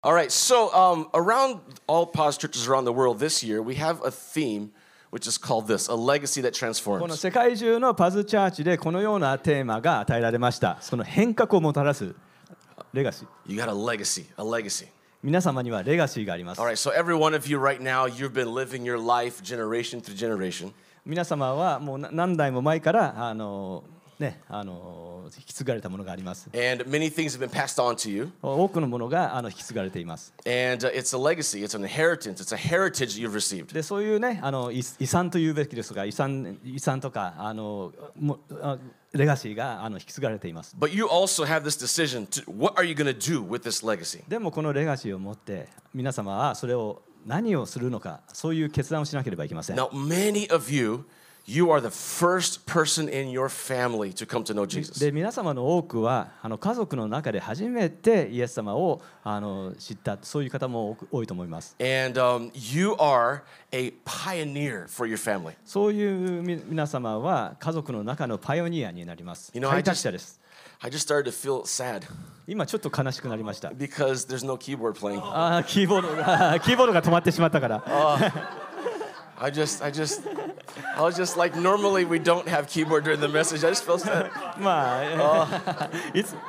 All right, so around all Pause churches around the world this year, we have a theme which is called this, a legacy that この transforms. 世界中のパズチャーチでこのようなテーマが与えられました。その変革をもたらすレガシー。 You got a legacy, a legacy. 皆様にはレガシーがあります。 All right, so every one of you right now, you've been living your life generation through generation. 皆様はもう何代も前から引き継がれたものがあります。 And many things have been passed on to you. 多くのものが引き継がれています。 And it's a legacy, it's an inheritance, it's a heritage that you've received. でそういうね遺産というべきですが遺産とかレガシーが引き継がれています。 But you also have this decision to what are you going to do with this legacy? でもこのレガシーを持って皆様はそれを何をするのかそういう決断をしなければいけません。 Now, many of you are the first person in your family to come to know Jesus. で皆様の多くは家族の中で初めてイエス様を知ったそういう方も多いと思います。 And you are a pioneer for your family. そういう皆様は家族の中のパイオニアになります。開拓者です。 I just started to feel sad 今ちょっと悲しくなりました。 because there's no keyboard playing. キーボードが止まってしまったから。 I was just like, normally we don't have keyboard during the message. I just felt sad. まあ、いつ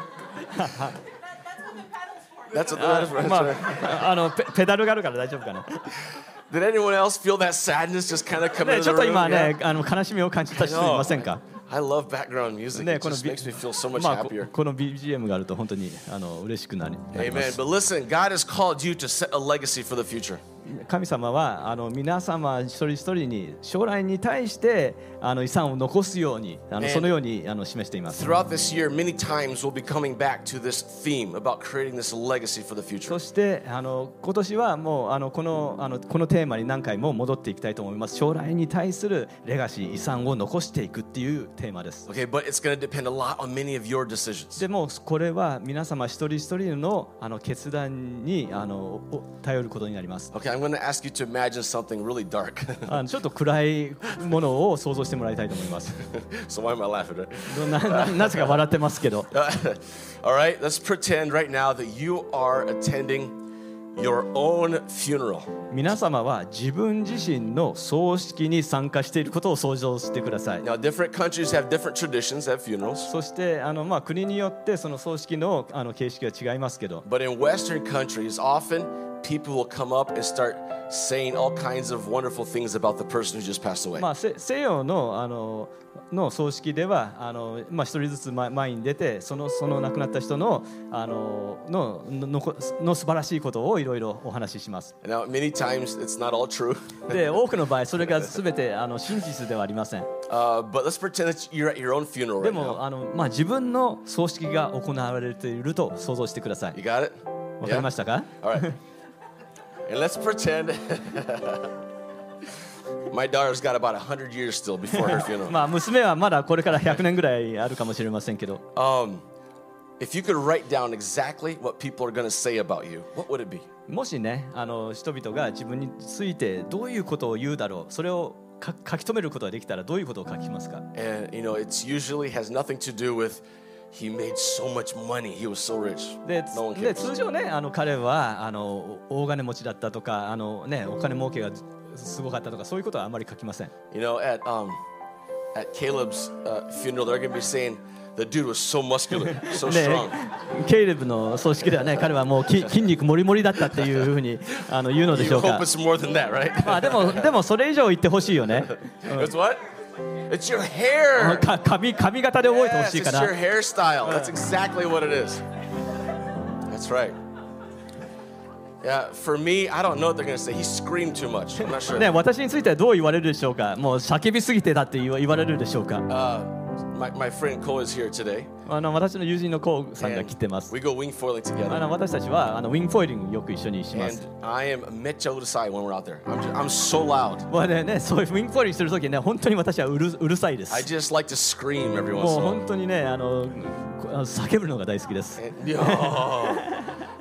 That's what the pedals for. まあ、ペダルがあるから大丈夫かな。 Did anyone else feel that sadness just kind of come into ちょ the っと今 room? ね、 Yeah. 悲しみを感じた人いませんか。 I love background music. ね、 It just makes me feel so much まあ happier. この BGM があると本当に嬉しくなりま Amen. す。 But listen, God has called you to set a legacy for the future. 神様は皆様一人一人に将来に対して遺産を残すようにそのように示しています。 Throughout this year, many times we'll be coming back to this theme about creating this legacy for the future. そして今年はもうこのテーマに何回も戻っていきたいと思います。将来に対するレガシー遺産を残していくっていうテーマです。 Okay, but it's going to depend a lot on many of your decisions. でもこれは皆様一人一人の決断に頼ることになります。 Okay, I'm going to ask you to imagine something really dark. ちょっと暗いものを想像してもらいたいと思います。 So why am I laughing? Right? なぜか笑ってますけど。 All right, let's pretend right now that you are attending your own funeral. 皆様は自分自身の葬式に参加していることを想像してください。 Now, different countries have different traditions at funerals. そして国によってその葬式の形式は違いますけど。 But in Western countries, often people will come up and start saying all kinds of wonderful things about the person who just passed away. 西洋の葬式では一人ずつ前に出てその亡くなった人の素晴らしいことをいろいろお話しします。 Now, many times it's not all true. で多くの場合それが全て真実ではありません。 But let's pretend that you're at your own funeral で right も now. 自分の葬式が行われていると想像してください。 You got it? わかりましたか？ All right. And let's pretend my daughter's got about 100 years still before her funeral. 娘はまだこれから100年ぐらいあるかもしれませんけど。 If you could write down exactly what people are going to say about you, what would it be? もしね人々が自分についてどういうことを言うだろうそれを書き留めることができたらどういうことを書きますか？ And it's usually has nothing to do with he made so much money, he was so rich. で No one cares. 通常ね彼は大金持ちだったとかお金儲けがすごかったとかそういうことはあまり書きません。 At Caleb's funeral, they're going to be saying the dude was so muscular, so strong. ケイレブの葬式ではね彼はもう筋肉もりもりだったっていうふうに言うのでし You ょう hope か。 it's more than that, right? でもそれ以上言ってほしいよね。 It's what? It's your hair. 髪型で覚えてほ Yes, しいか it's ら。 your hairstyle. That's exactly what it is. That's right. Yeah, for me, I don't know what they're going to say. He screamed too much. I'm not sure. ね、私についてはどう言われるでしょうか。もう叫びすぎてだって言われるでしょうか。 My friend Cole is here today. 私の友人のコウさんが来てます。 We go wing foiling together. 私たちはウィングフォイリングよく一緒にしま And す。 I am mecha urusai when we're out there. I'm so loud. もうね、そういうウィングフォイリングするときね、本当に私はうるさいです。 I just like to scream every once もう in a 本当にね、叫ぶのが大好きです。 while.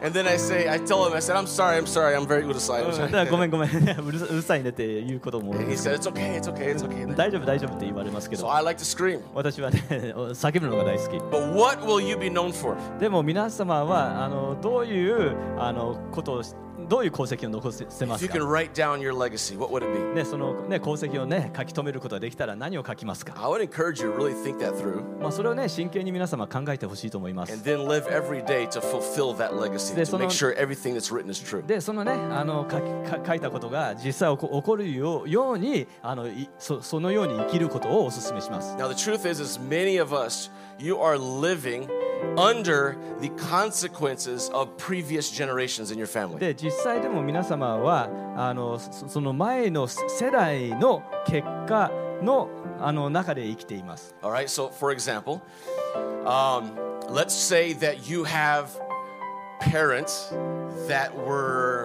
And then I tell him, I said, I'm sorry, I'm very うるさい。 だからごめんうるさいねって言うことも多い And で he す said, it's okay. 大丈夫って言われますけ So ど I like to scream. 私はね叫ぶのが大好き But what will you be known for? でも皆様はどういうことをどういう功績を残せま If す you か can write down your legacy, what would it be? ね、その、ね、功績を、ね、書き留めることができたら何を書きますか、 I would encourage you to really think that through それを、ね、真剣に皆様考えてほしいと思います and then live every day to fulfill that legacy, to make sure everything that's written is true. でそのね書いたことが実際起こるようにそのように生きることをお勧めします Now the truth is many of us, you are living under the consequences of previous generations in your family. で実際でも皆様はその前の世代の結果の中で生きています All right, so for example, let's say that you have parents that were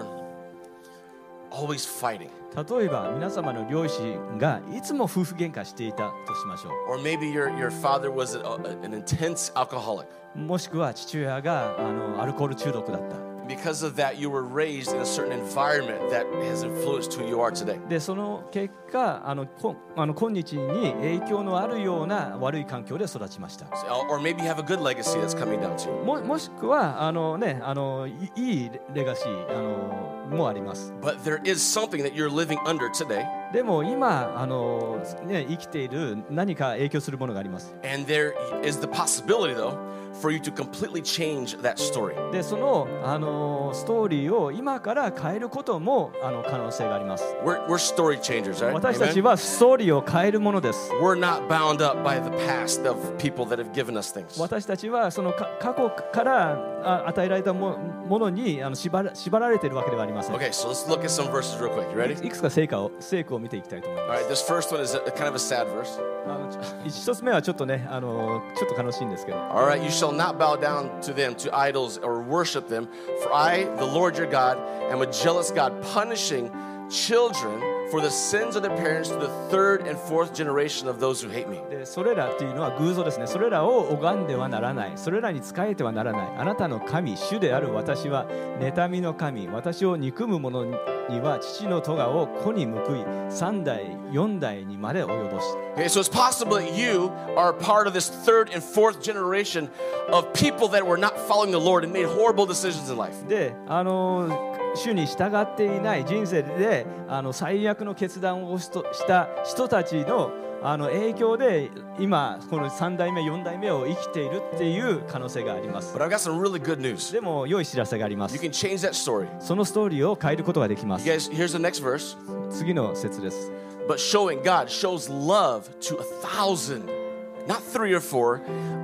always fighting. 例えば皆様の両親がいつも夫婦喧嘩していたとしましょ Or maybe your father was an intense alcoholic. うもしくは父親がアルコール中毒だった Because of that, you were raised in a certain environment that has influenced who you are today. でその結果今日に影響のあるような悪い環境で育ちました Or maybe you have a good legacy that's coming down to you. もしくはいいレガシーもあります But there is something that you're living under today, でも今生きている何か影響するものがあります and there is the possibility, though, for you to completely change that story. でそのストーリーを今から変えることも可能性があります We're story changers, right? 私たち Amen? はストーリーを変えるものです We're not bound up by the past of people that have given us things. 私たちはその過去から与えられたものに縛られているわけではありません Okay, so let's look at some verses real quick. You ready? いくつか聖句を見ていきたいと思い All ます right, this first one is kind of a sad verse. 一つ目はちょっとねちょっと悲しいんですけど All right, you shall not bow down to them, to idols, or worship them. For I, the Lord your God, am a jealous God, punishing children for the sins of their parents to the third and fourth generation of those who hate me. でそれらっていうのは偶像ですねそれらを拝んではならないそれらに仕えてはならないあなたの神主である私は妬みの神私を憎む者には父の咎を子に報い3代4代にまで及ぼし Okay, so it's possible that you are a part of this third and fourth generation of people that were not following the Lord and made horrible decisions in life. で主に従っていない人生で最悪の決断をした人たちの影響で今この3代目4代目を生きているっていう可能性があります But I've got some really good news. でも良い知らせがありま You す can change that story. そのストーリーを変えることができま You す guys, here's the next verse. 次の節です But God shows love to 1,000, not 3 or 4,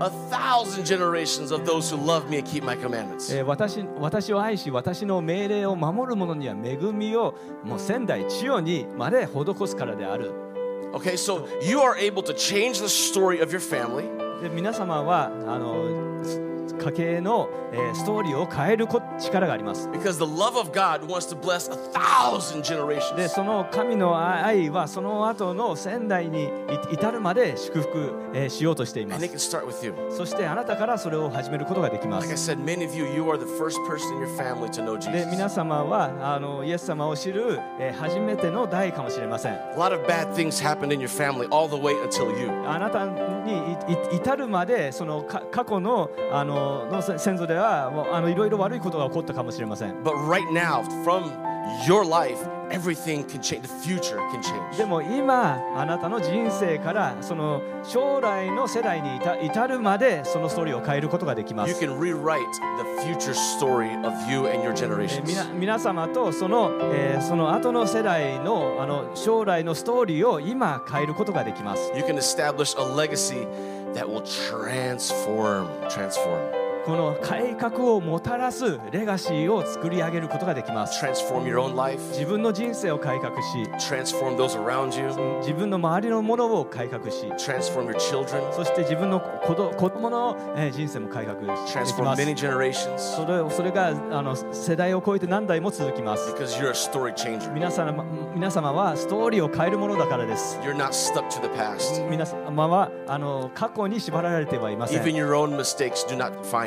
1,000 generations of those who love me and keep my commandments. 私を愛し私の命令を守る者には恵みをもう千代千代にまで施すからである Okay, so you are able to change the story of your family. で皆様は家計のストーリーを変える力があります Because the love of God wants to bless 1,000 generations. でその神の愛はその後の千代に至るまで祝福しようとしていま And it す can start with you. そしてあなたからそれを始めることができま Like I す said, many of you, you are the first person in your family to know で皆 Jesus. 様はイエス様を知る初めての代かもしれません A lot of bad things happened in your family all the way until you. あなたに至るまでその過去の先祖ではいろいろ悪いことが起こったかもしれません But right now, from your life, everything can change. The future can change. でも今あなたの人生からその将来の世代に至るまでそのストーリーを変えることができま You す can rewrite the future story of you and your generations. 皆様とその後の世代の将来のストーリーを今変えることができます You can establish a legacy that will transform. この改革をもたらすレガシーを作り上げることができます Transform your own life. 自分の人生を改革し Transform those around you. 自分の周りのものを改革し Transform your children. そして自分の子供の人生も改革でき Transform ます many generations. それが世代を超えて何代も続きます Because you're a story changer. 皆様はストーリーを変えるものだからです You're not stuck to the past. 皆様は過去に縛られてはいません Even your own mistakes do not define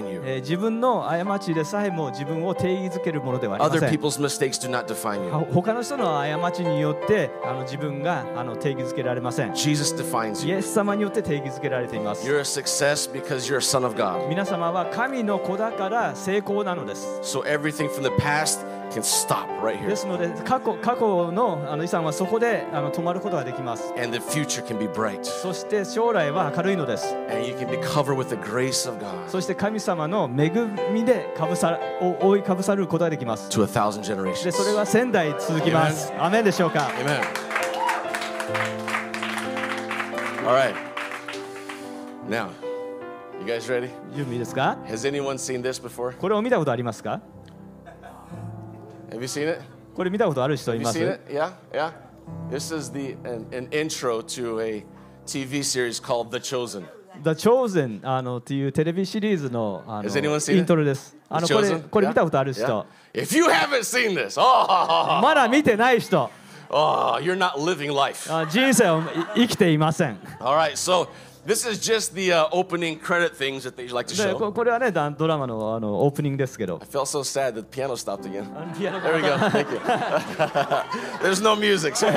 define you. 自分の過ちでさえも自分を定義づけるものではありま Other せん。 people's mistakes do not define you. 他の人の過ちによって自分が定義づけられません。 Jesus defines イ you. エス様によって定義づけられています。 You're a success because you're a son of God. 皆様は神の子だから成功なのです。 So everything from the past can stop right で here. すので過去の遺産はそこで止まることができます。 And the future can be bright. そして将来は明るいのです。 And you can be covered with the grace of God そして神様の恵みで覆いかぶさることができます。 to a thousand で generations. それは1000代続きます。アメンでしょうか。 Amen. All right. Now, you guys ready? 準備いいですか？ Has anyone seen this before? これを見たことありますか？ Have you seen it? これ見たことある人い Have you ます？ seen it? Yeah, yeah. This is an intro to a TV series called The Chosen. The Chosen っていうテレビシリーズの Has anyone seen it? イントロです。 The Chosen? これ見たことある Yeah? 人、 Yeah? If you haven't seen this, oh, まだ見てない人、 you're not living life. 人生を生きていません。 All right, so this is just the opening credit things that they like to で show. これはねドラマのオープニングですけど I。felt so sad that the piano stopped again. ピアノ There we go. Thank you. There's no music. So.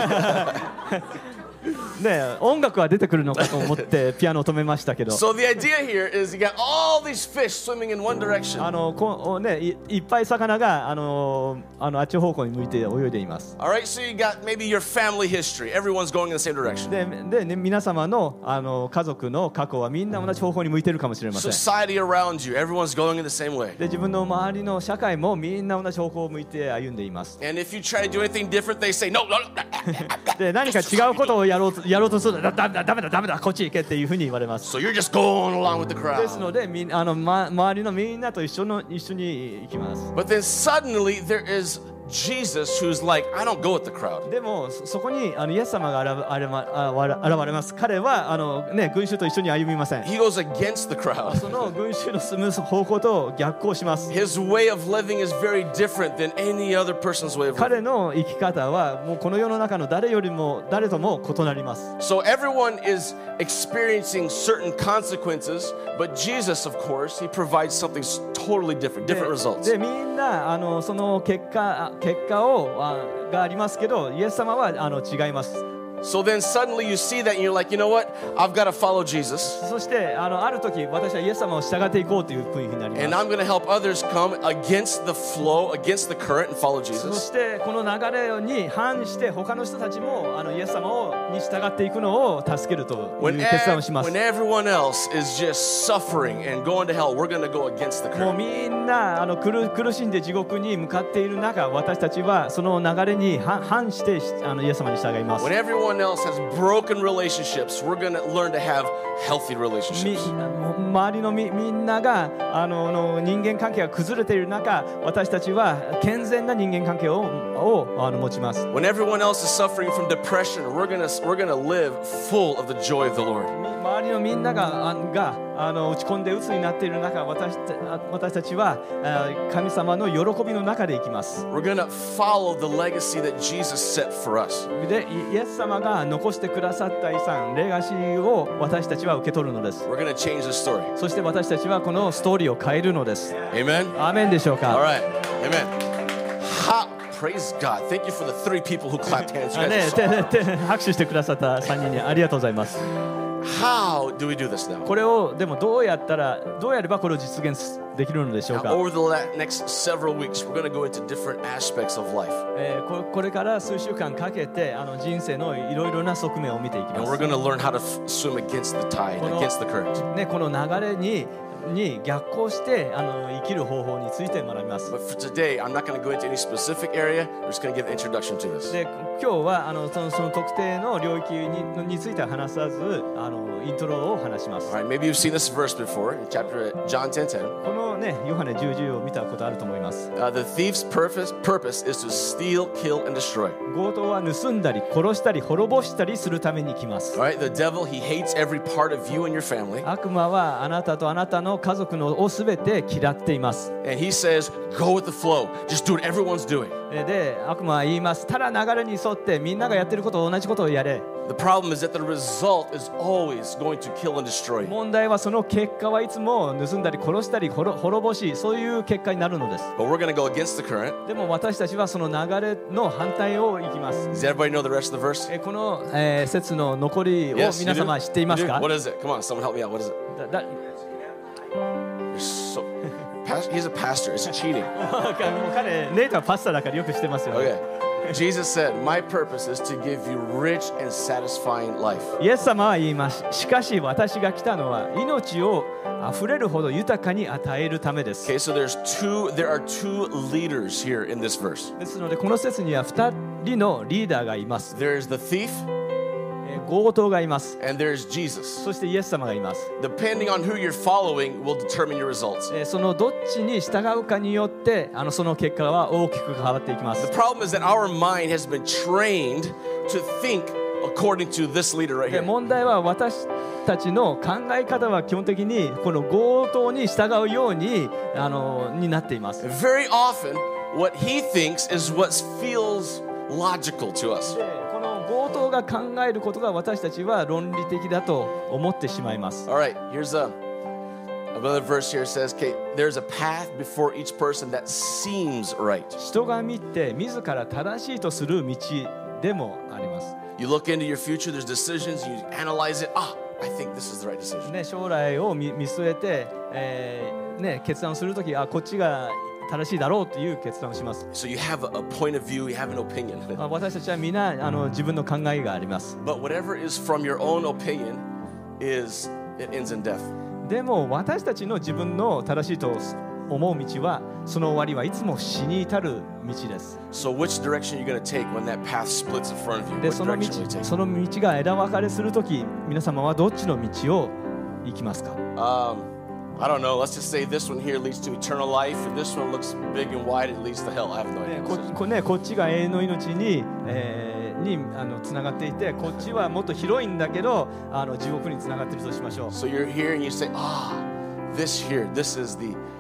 ね音楽は出てくるのかと思ってピアノを止めましたけど。 So the idea here is you got all these fish swimming in one direction. いっぱい魚があっち方向に向いて泳いでいます。 All right, so you got maybe your family history. Everyone's going in the same direction. でね、皆様の家族の過去はみんな同じ方向に向いているかもしれません。 Society around you, everyone's going in the same way. で自分の周りの社会もみんな同じ方向を向いて歩んでいます。 And if you try to do anything different, they say, no, no, no. で何か違うことをやろうとするとダメだこっち行けっていうふうに言われます。 So you're just going along with the ですの crowd. で周りのみんなと一緒に行きます。 But then suddenly there is Jesus who's like, I don't go with the crowd. でもそこにイエス様が現れます。彼は群衆と一緒に歩みません。 He goes against the crowd. その群衆の進む方向と逆行します。 His way of living is very different than any other person's way of living. 彼の生き方はもうこの世の中の誰とも異なります。 So everyone is experiencing certain consequences, but Jesus, of course, he provides something totally different, different results. でみんなその結果がありますけど、イエス様は違います。 So then suddenly you see that and you're like, you know what? I've got to follow Jesus. そしてある時私はイエス様を従っていこうという雰囲気になり And ます。 I'm going to help others come against the flow, against the current and follow そ Jesus. してこの流れに反して他の人たちもイエス様に従っていくのを助けるという When, 決断をします。 when everyone else is just suffering and going to hell, we're going to go against the もう current. みんな苦しんで地獄に向かっている中、私たちはその流れに反してイエス様に従います。 When everyone else has broken relationships, we're going to learn to have healthy relationships. 周りのみんなが人間関係が崩れている中、私たちは健全な人間関係を持ちます。 When everyone else is suffering from depression, we're going to live full of the joy of the Lord. 周りのみんなが落ち込んで鬱になっている中、私たちは神様の喜びの中で生きます。 We're going to follow the legacy that Jesus set for us. で、イエス様が残してくださった遺産、レガシーを私たちは受け取るのです。 We're going to change the story. そして私たちはこのストーリーを変えるのです。 Amen? アーメンでしょう All か。 right. Amen. Praise God. Thank you for the 3 people who clapped hands. You guys are so- 拍手してくださった3人にありがとうございます。 How do we do this now? これをでもどうやればこれを実現できるのでしょう Now, か。 over the next several weeks, we're going to go into different aspects of life. これから数週間かけて人生のいろいろな側面を見ていき And ま we're す。 going to learn how to swim against the tide, against the current. この流れに逆行して生きる方法について学びます。 But for today, I'm not going to go into any specific area. We're just going to give an introduction to this. で今日はその特定の領域については話さずイントロを話します。 All right, maybe you've seen this verse before in chapter John 10:10. このねヨハネ10:10を見たことあると思います。 The thief's purpose is to steal, kill, and destroy. 強盗は盗んだり殺したり滅ぼしたりするために来ます。 All right, the devil, he hates every part of you and your family. 悪魔はあなたとあなたの家族をすべて嫌っています。 And he says, go with the flow. Just do what everyone's doing. で悪魔は言います。ただ流れに沿ってみんながやってること同じことをやれ。 The problem is that the result is always going to kill and destroy. 問題はその結果はいつも盗んだり殺したり滅ぼし、そういう結果になるのです。 But we're going to go against the current. でも私たちはその流れの反対を行きます。 Does everybody know the rest of the verse? この、節の残りを Yes, 皆 you 様 do? 知っています You do? か？ What is it? Come on, someone help me out. What is it? You're so, he's a pastor. It's cheating. もう彼ネイトはパスタだからよく知ってますよ。 Okay. Jesus said, "My purpose is to give you rich and satisfying life." イエス様は言います。しかし私が来たのは命をあふれるほど豊かに与えるためです。 Okay, so there are two leaders here in this verse. ですのでこの説には2人のリーダーがいます。 There's the thief 強盗がいます。 and there's Jesus. そしてイエス様がいます。 Depending on who you're following will determine your results. そのどっちに従うかによってその結果は大きく変わっていきま The す。 problem is that our mind has been trained to think according to this leader right で here. 問題は私たちの考え方は基本的にこの強盗に従うようになっています。 Very often, what he thinks is what feels logical to us. でこの強盗が考えることが私たちは論理的だと思ってしまいます。 All right, here's another verse here says, okay, there's a path before each person that seems right. 人が見て自ら正しいとする道でもあります。 You look into your future, there's decisions, you analyze it. I think this is the right decision. ね、将来を見据えて、決断するときこっちが正しいだろうという決断をします。 So you have a point of view, you have an opinion. 私たちはみんな自分の考えがあります。 But whatever is from your own opinion it ends in death. でも私たちの自分の正しいと思う道はその終わりはいつも死に至る道です。 So which direction are you going to take when that path splits in front of you? で Which その direction will you take? その道が枝分かれするとき、皆様はどっちの道を行きますか？ I don't know. Let's just say this one here leads to eternal life, and this one looks big and wide. It leads to hell. I have no idea. こっちが永遠の命につながっていて、こっちはもっと広いんだけど地獄につながっているとしましょう。 So you're here and you say, this here, this is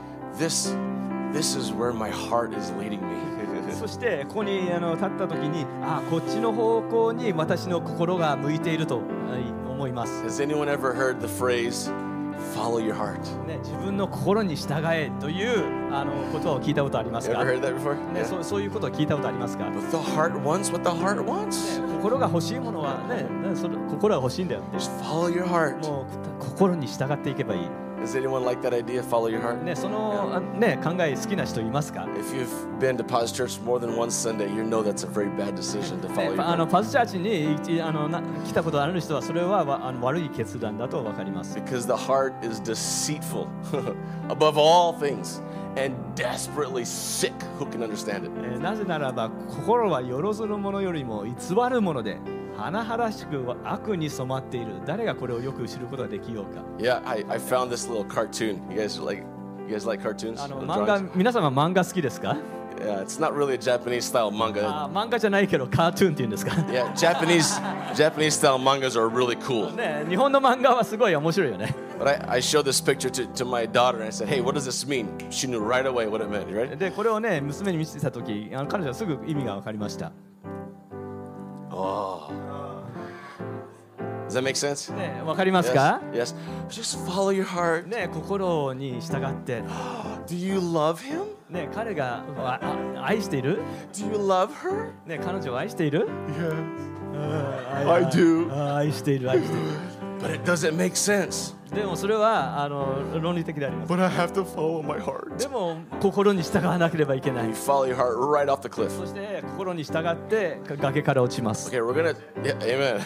where my heart is leading me. そしてここに立った時にこっちの方向に私の心が向いていると思います。 Has anyone ever heard the phrase, follow your heart? 自分の心に従えということを聞いたことあります You か？ ever heard that before? ね、 Yeah. そういうことを聞いたことありますか？ But the heart wants what the heart wants. 心が欲しいものは心が欲しいんだよって。 Just follow your heart. もう心に従っていけばいい。 Does anyone like that idea, follow your heart? ね、その、考え好きな人いますか？ If you've been to Paz Church more than one Sunday, you know that's a very bad decision to follow your heart. パズチャーチに来たことある人はそれは悪い決断だと分かります。 Because the heart is deceitful above all things and desperately sick. Who can understand it? なぜならば心はよろずるものよりも偽るもので甚だしく悪に染まっている。誰がこれをよく知ることができようか。 Yeah, I found this little cartoon. You guys like cartoons? 漫画、皆様漫画好きですか？ Yeah, it's not really a Japanese style manga. 漫画じゃないけどカートゥーンっていうんですか？ Yeah, Japanese style mangas are really cool. ね、日本の漫画はすごい面白いよね。 But I showed this picture to my daughter and I said, hey, what does this mean? She knew right away what it meant. You ready? でこれをね娘に見せてた時彼女はすぐ意味が分かりました。 Oh. Does that make sense? ね、分かりますか？ Yes. Just follow your heart. ね、心に従って、 Do you love him? ね、彼が愛している？ Do you love her? ね、彼女を愛している？ Yeah. I do. 愛している、愛している。 But it doesn't make sense. でもそれは論理的であります。 But I have to follow my heart. でも心に従わなければいけない You。follow your heart right off the cliff. そして心に従って崖から落ちます。 Okay, we're gonna. Yeah, amen.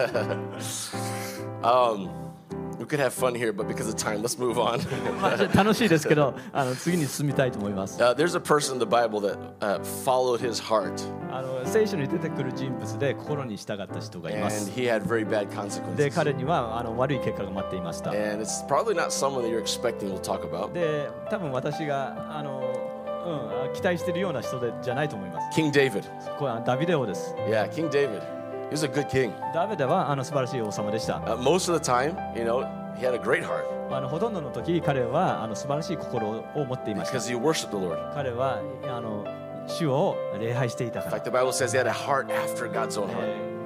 We could have fun here, but because of time, let's move on. まあ楽しいですけど次に進みたいと思います。 There's a person in the Bible that followed his heart, 聖書に出てくる人物で心に従った人がいま and す。 he had very bad で consequences. 彼には悪い結果が待っていました。 And it's probably not someone that you're expecting we'll talk about. で多分私が期待しているような人じゃないと思います。 King David. これはダビデ王です。 Yeah, King David. He was a good king. ダビデは素晴らしい王様でした。 Most of the time, he had a great heart ほとんどの時彼は素晴らしい心を持っていました。 because he worshiped the Lord. 彼は主を礼拝していた In から。 fact, the Bible says he had a heart after God's own heart.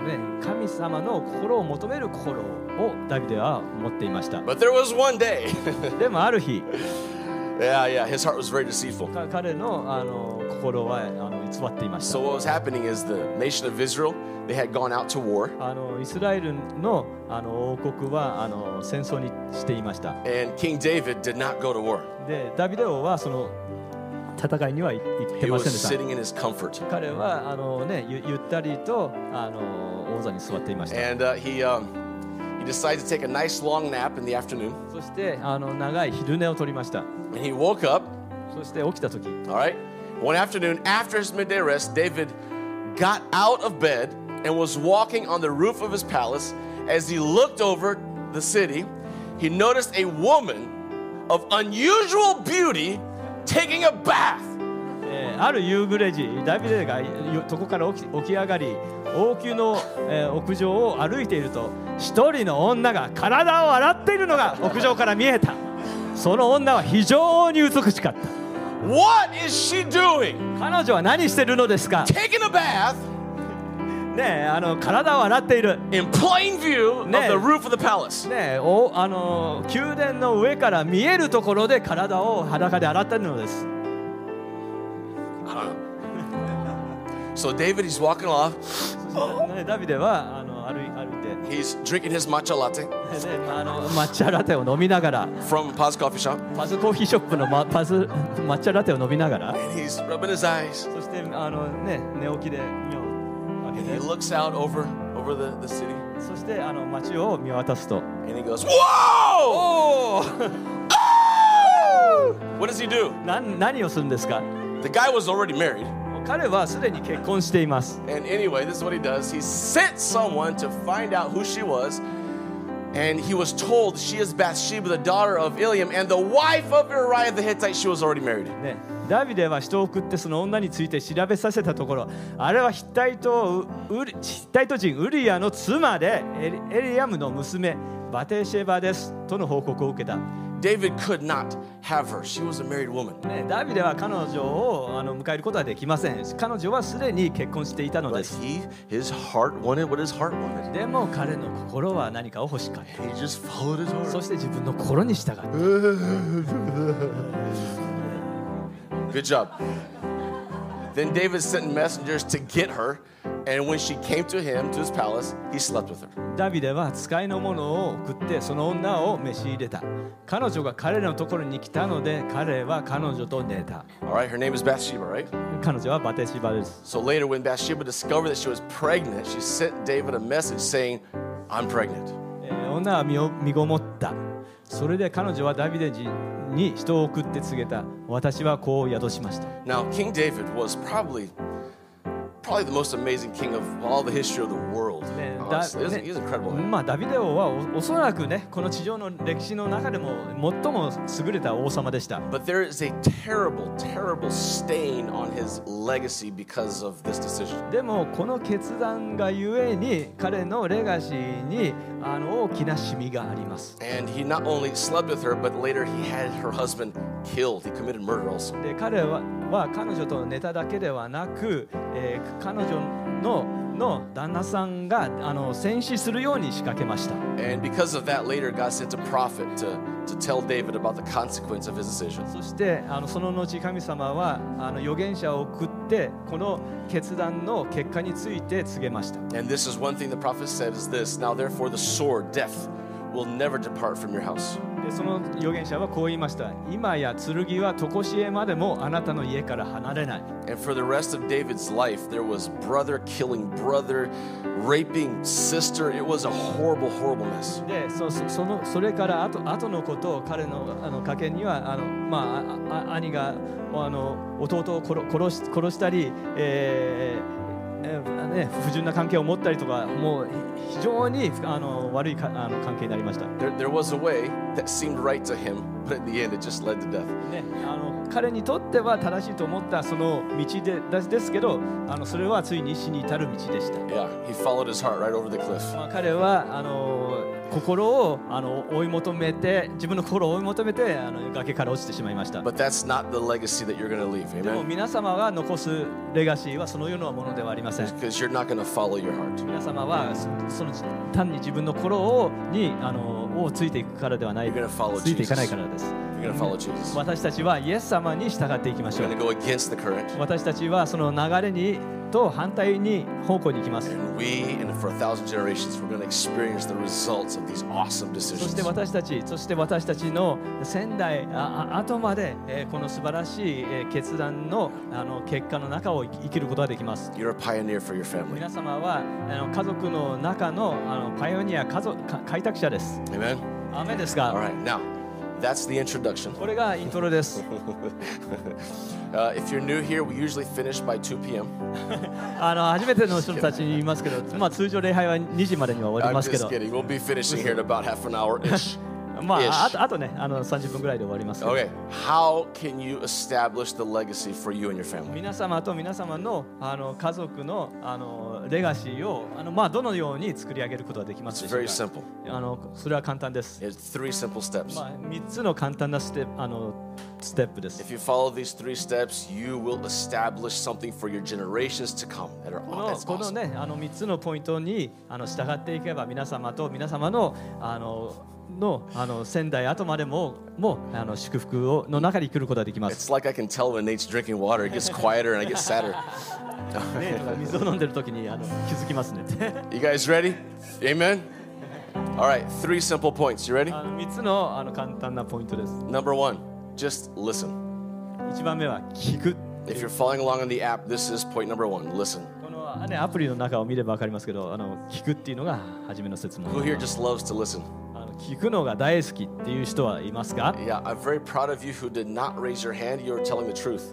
ね、神様の心を求める心をダビデは持っていました。 But there was one day でもある日 yeah, his heart was very deceitful. 彼の心は偽っていました。 So what was happening is the nation of Israel, they had gone out to war. イスラエルの王国は戦争にしていました。 And King David did not go to war. でダビデ王はその戦いには行って He ま was せんでした。 sitting in his comfort. 彼はゆったりと王座に座っていました。 And he decided to take a nice long nap in the afternoon. そして長い昼寝を取りました。 And he woke up, そして起きた時 all right? One afternoon, after his midday rest, David got out of bed and was walking on the roof of his palace. As he looked over the city, he noticed a woman of unusual beauty taking a bath. ある夕暮れ時、ダビデが床から起き上がり、王宮の屋上を歩いていると、一人の女が体を洗っているのが屋上から見えた。その女は非常に美しかった。 What is she doing? 彼女は何しているのですか？ Taking a bath ねえ、体を洗っている。 in plain view of the roof of the palace. ねえ、宮殿の上から見えるところで体を裸で洗っているのです。 I don't know. So David, he's walking off. ね、ダビデは歩いて、 He's drinking his matcha latte 抹茶ラテを飲みながら、 from Paz Coffee Shop. パズコーヒーショップの抹茶ラテを飲みながら、 And he's rubbing his eyes. そして寝起きで目を And 開 he けて、 looks out over the city. そして街を見渡すと、 And he goes, Whoa! Oh! What does he do? 何をするんですか？ The guy was already married. 彼はすでに結婚しています。 And anyway, this is what he does. He sent someone to find out who she was. And he was told she is Bathsheba, the daughter of Eliam, and the wife of Uriah the Hittite. She was already married. ね、ダビデは人を送ってその女について調べさせたところ、あれはヒッタイト人ウリアの妻でエリアムの娘バテシェバですとの報告を受けた。 David could not have her. She was a married woman. ね、ダビデは彼女を迎えることはできません。彼女はすでに結婚していたので But す。 his heart wanted what his heart wanted. でも彼の心は何かを欲しかった。 He just followed his heart. そして自分の心に従った。 Good job. Then David sent messengers to get her, and when she came to him, to his palace, he slept with her. ダビデは使いの者を送ってその女を召し入れた。彼女が彼のところに来たので彼は彼女と寝た。 All right, her name is Bathsheba, right? 彼女はバテシバです。 So later, when Bathsheba discovered that she was pregnant, she sent David a message saying, I'm pregnant. 女は身ごもった。それで彼女はダビデに人を送って告げた。私は子を宿しました。 Now, King David was probably the most amazing king of all the history of the world. Honestly, he's incredible. まあダビデ王はおそらくね、この地上の歴史の中でも最も優れた王様でした。 But there is a terrible, terrible stain on his legacy because of this decision. でもこの決断がゆえに彼のレガシーに大きなシミがあります。 And he not only slept with her, but later he had her husband killed. He committed murder also. で彼は彼女と寝ただけではなく、彼女の旦那さんが戦死するように仕掛けました。 And because of that, later God sent a prophet to tell David about the consequence of his decision. そしてその後神様は預言者を送ってこの決断の結果について告げました。 And this is one thing the prophet said is this: Now therefore the sword, death, will never depart from your house. でその預言者はこう言いました。今や剣は常しえまでもあなたの家から離れない。 And for the rest of David's life, there was brother killing brother, raping sister. It was a horrible, horrible mess. でそれから後のことを彼の家系には兄が弟を殺したり、不純な関係を持ったりとか、もう非常に悪い関係になりました。 There was a way that seemed right to him, but in the end, it just led to death. ね、彼にとっては正しいと思ったその道ですけど、それはついに死に至る道でした。 Yeah, he followed his heart right over the cliff. 彼は心を追い求めて、自分の心を追い求めて崖から落ちてしまいました。 But that's not the legacy that you're going to leave. でも Amen? 皆様が残すレガシーはそのようなものではありません。 Because you're not going to follow your heart. 皆様はその単に自分の心にをついていくからではない、 You're going to follow ついていかない Jesus. からです。 You're going to follow Jesus. 私たちはイエス様に従っていきましょ You're う。 going to go against the current. 私たちはその流れにと反対に方向に行きます。 And for 1,000 generations, we're going to experience the results of these awesome そして decisions. 私たちの先代後までこの素晴らしい決断の結果の中を生きることができます。 You're a pioneer for your family. 皆様は家族の中のパイオニア、開拓者です。 Amen? アーメンです All が、 right, now, that's the introduction. これがイントロです。 If you're new here, we usually finish by 2 p.m. 初めての人たちに言いますけど、通常礼拝は2時までには終わり I'm ますけ just ど、 kidding. We'll be finishing here in about half an hour-ish. あとね30分ぐらいで終わりますけど、 Okay, how can you establish the legacy for you and your family? 皆様と皆様の家族のレガシーをどのように作り上げることができます It's でしょう very か。 simple. それは簡単です。 It's 3 simple steps. 3つの簡単なステップです。 If you follow these 3 steps, you will establish something for your generations to come. That's この awesome. ね3つのポイントに従っていけば、皆様と皆様の先代後までも祝福の中に来ることができます。 It's like I can tell when Nate's drinking water, it gets quieter and I get sadder. 水を飲んでる時に気づきますね。 You guys ready? Amen? All right, 3 simple points. You ready? 3つの簡単なポイントです。 Number 1, just listen. 1番目は聞く。 If you're following along on the app, this is point number 1. Listen. このアプリの中を見れば分かりますけど、聞くっていうのが初めの説問。 Who here just loves to listen? 聞くのが大好きっていう人はいますか？ Yeah, I'm very proud of you who did not raise your hand. You're telling the truth.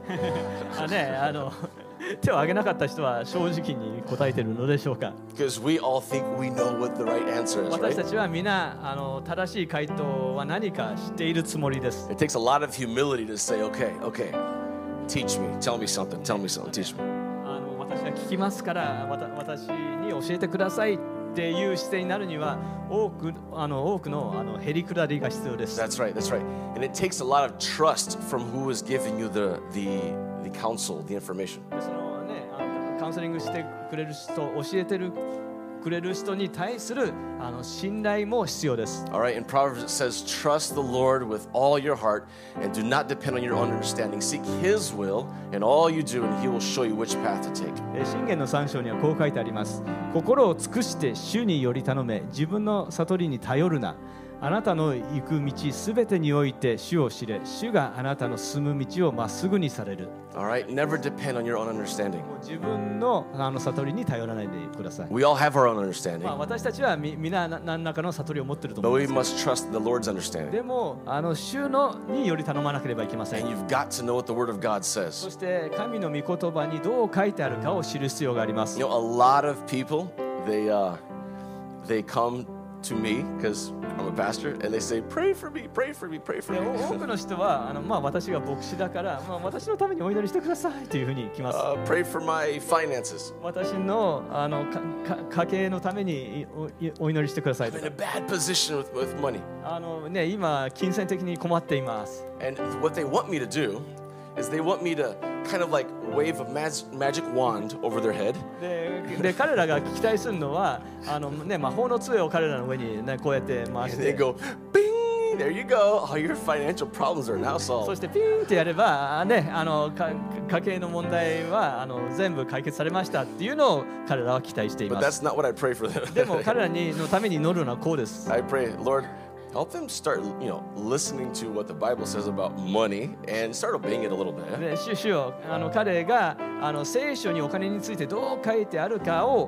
手を挙げなかった人は正直に答えているのでしょうか？ Because we all think we know what the right answer is, 私た right? ちは皆正しい回答は何か知っているつもりです。 It takes a lot of humility to say, okay, teach me, tell me something, teach me. 私は聞きますから私に教えてくださいっていう姿勢になるには多くのへりくだりが必要です。 That's right. And it takes a lot of trust from who is giving you the counsel, the information. でそのねカウンセリングしてくれる人、教えてくれる人に対する信頼も必要です。 All right, in Proverbs it says, trust the Lord with all your heart and do not depend on your own understanding. Seek His will in all you do and He will show you which path to take. 箴言の3章にはこう書いてあります。心を尽くして主により頼め、自分の悟りに頼るな。あなたの行く道すべてにおいて主を知れ、主があなたの進む道をまっすぐにされる。 All right, never depend on your own understanding. 自分の悟りに頼らないでください。 We all have our own understanding, 私たちは皆何らかの悟りを持っていると but 思い we ます。 must trust the Lord's understanding. でも主により頼まなければいけません。 And you've got to know what the Word of God そ says. して神の御言葉にどう書いてあるかを知る必要があります。 You know, a lot of people, they come to me because I'm a pastor and they say, pray for me, pray for me, pray for で me. 多くの人は私が牧師だから、私のためにお祈りしてくださいというふうに来ます。 Pray for my finances. 私の家計のためにお祈りしてください I'm と in a か。 bad position with money. 今金銭的に困っています。 And what they want me to do is they want me to kind of like wave a magic wand over their head. で彼らが期待するのは魔法の杖を彼らの上に、こうやって回し And they て、 go, bing, there you go. All your financial problems are now そ solved. してピーンってやれば、家計の問題は全部解決されましたっていうのを彼らは期待してい But ます。 that's not what I pray for them. でも彼らのために祈るのはこうです。 I pray, Lord, help them start, listening to what the Bible says about money and start obeying it a little bit. で主よ彼が聖書にお金についてどう書いてあるかを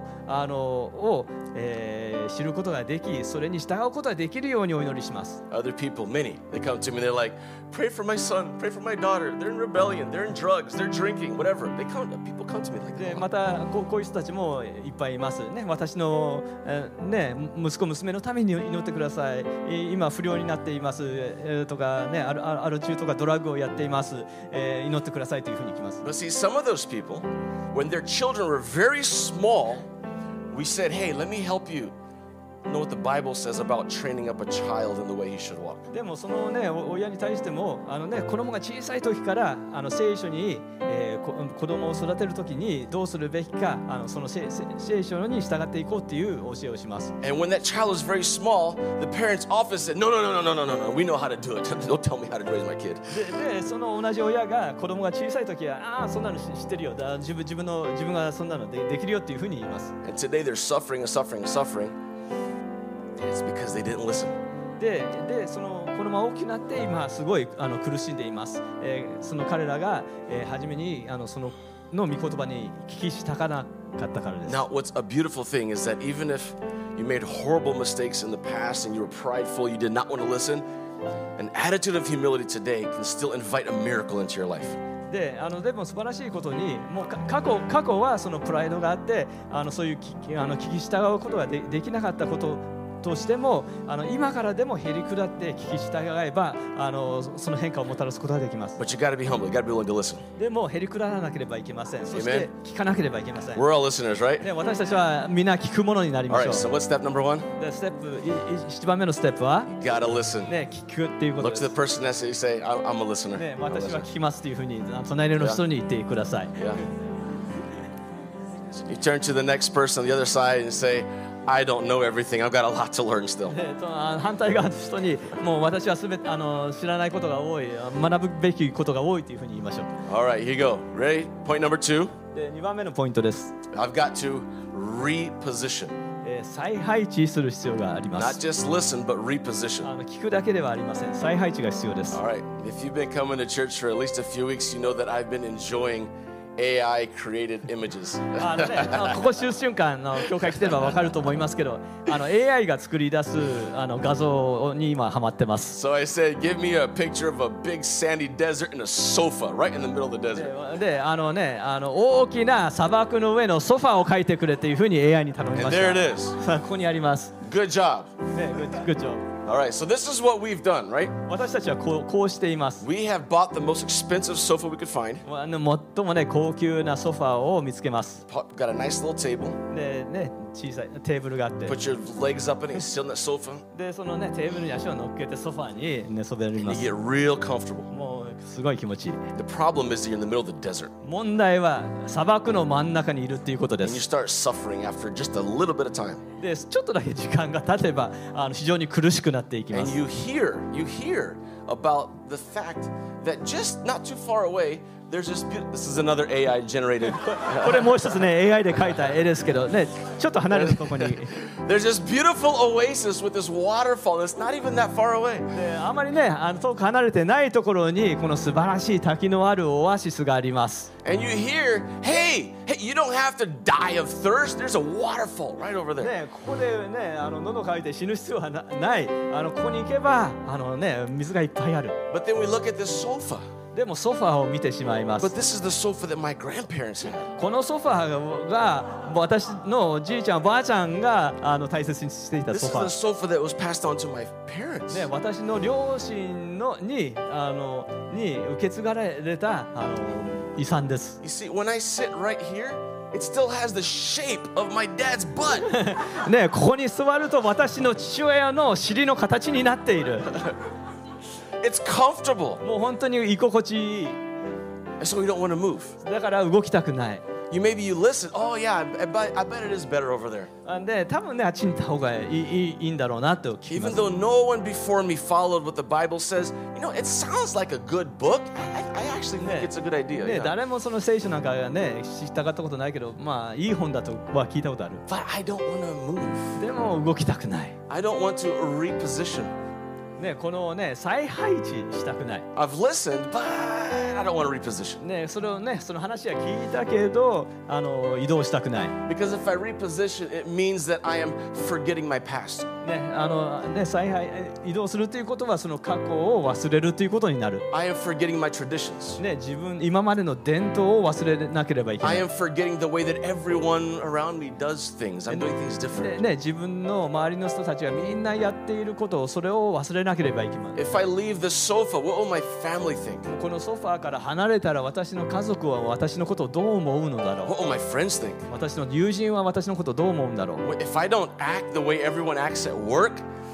知ることができ、それに従うことができるようにお祈りします。 Other people, many, they come to me, they're like, pray for my son, pray for my daughter. They're in rebellion, they're in drugs, they're drinking, whatever. People come to me like で that. またこういう人たちもいっぱいいますね。私の、息子娘のために祈ってください。今不良になっています、とかね、アル中とかドラッグをやっています、祈ってくださいというふうに来ます。 But see, some of those people, when their children were very small, we said, hey, let me help you know what the Bible says about training up a child in the way he should walk. でもそのね親に対しても子供が小さい時から聖書に、子供を育てる時にどうするべきかその聖書に従っていこうっていう教えをします。 And when that child is very small, the parents often said, "No, no, no, no, no, no, no, no. We know how to do it. Don't tell me how to raise my kid." でその同じ親が子供が小さい時はそんなの知ってるよ。自分がそんなのできるよっていうふうに言います。 And today they're suffering and suffering and suffering. And it's because they didn't listen. でその子供が大きくなって今すごい苦しんでいます。その彼らが、初めにその御言葉に聞き従わなかったからです。 Now, what's a beautiful thing is that even if you made horrible mistakes in the past and you were prideful, you did not want to listen, an attitude of humility today can still invite a miracle into your life. でも素晴らしいことにもう過去はそのプライドがあってそういう聞き従うことができなかったこととしても今からでもへりくだって聞き従えばその変化をもたらすことができます。 But you got to be humble. You got to be willing to listen. でもへりくだらなければいけません。そして聞かなければいけません。 We're all listeners, right? で私たちはみんな聞くものになりま All しょ right, う。 so what's step number one? で1番目のステップは、 You got to listen. 聞くっていうこと Look で to す。 the person next to you and say, I'm a listener. 私は聞きますっていうふうに隣の人に言ってください。 Yeah. You turn to the next person on the other side and say, I don't know everything. I've got a lot to learn still. 反対側の人にもう私はすべて知らないことが多い、学ぶべきことが多いというふうに言いましょう。 All right, here you go. Ready? Point number 2. で2番目のポイントです。 I've got to reposition. 再配置する必要がありま Not す。 just listen, but reposition. 聞くだけではありません。再配置が必要です。 All right. If you've been coming to church for at least a few weeks, you know that I've been enjoying AI created images. ここ数週間の教会来てれば分かると思いますけどAI が作り出す画像に今ハマってます。 So I said, give me a picture of a big sandy desert and a sofa right in the middle of the desert. で大きな砂漠の上のソファーを描いてくれっていうふうに AI に頼みま And し there た。 it is. さあここにあります。 Good job. グッジョブ。 All right, so this is what we've done, right? 私たちはこうしています。 We have bought the most expensive sofa we could find. 最もね高級なソファーを見つけます。 Got a nice little table. でね小さいテーブルがあって、 Put your legs up in it and sit on that sofa. でそのねテーブルに足を乗っけてソファーに寝そべり And ま you す。 get real comfortable. もうすごい気持ちいい。 The problem is that you're in the middle of the desert. 問題は砂漠の真ん中にいるっていうことで And you す。 start suffering after just a little bit of time. でちょっとだけ時間が経てば非常に苦しくなっていきま And す。 you hear about the fact that just not too far away, there's this is another AI generated. これもう一つね AI で描いた絵ですけどねちょっと離れたところに There's this beautiful oasis with this waterfall that's not even that far away. であまりね遠く離れてないところにこの素晴らしい滝のあるオアシスがあります。 And you hear, hey, you don't have to die of thirst. There's a waterfall right over there. ねここでね喉乾いて死ぬ必要はないここに行けばね水がいっぱいある。 But then we look at this sofa. でもソファーを見てしまいま But す。 this is the sofa that my grandparents had. このソファーが私のじいちゃんばあちゃんが大切にしていた This ソ is ファ the ー。 sofa that was passed on to my parents. ね、私の両親に受け継がれた遺産です。 You see, when I sit right here, it still has the shape of my dad's butt. ね、ここに座ると私の父親の尻の形になっている。 It's comfortable. もう本当に居心地いい。 And so we don't want to move. だから動きたくない。 Maybe you listen. Oh, yeah, I bet it is better over there. で、多分ね、あっちに行った方がいいんだろうなと聞きま Even す。 though no one before me followed what the Bible says, it sounds like a good book. I actually think it's a good idea. ね、 Yeah. 誰もその聖書なんかね、知ったかったことないけど、まあいい本だとは聞いたことある。 But I don't want to move. でも動きたくない。 I don't want to reposition. ね、このね、再配置したくない。 I've listened, but I don't want to reposition. ね、その話は聞いたけど、移動したくない。 Because if I reposition, it means that I am forgetting my past. 移動するということはその過去を忘れるということになる。 I am forgetting my traditions. ね、今までの伝統を忘れなければいけな I い。 am forgetting the way that everyone around me does things. I'm doing things ね different. 自分の周りの人たちがみんなやっていることをそれを忘れなければいけない。 If I leave the sofa, what will my family think? このソファーから離れたら私の家族は私のことをどう思うのだろう。 What will my friends think? 私の友人は私のことをどう思うんだろう。 If I don't act the way everyone acts at work,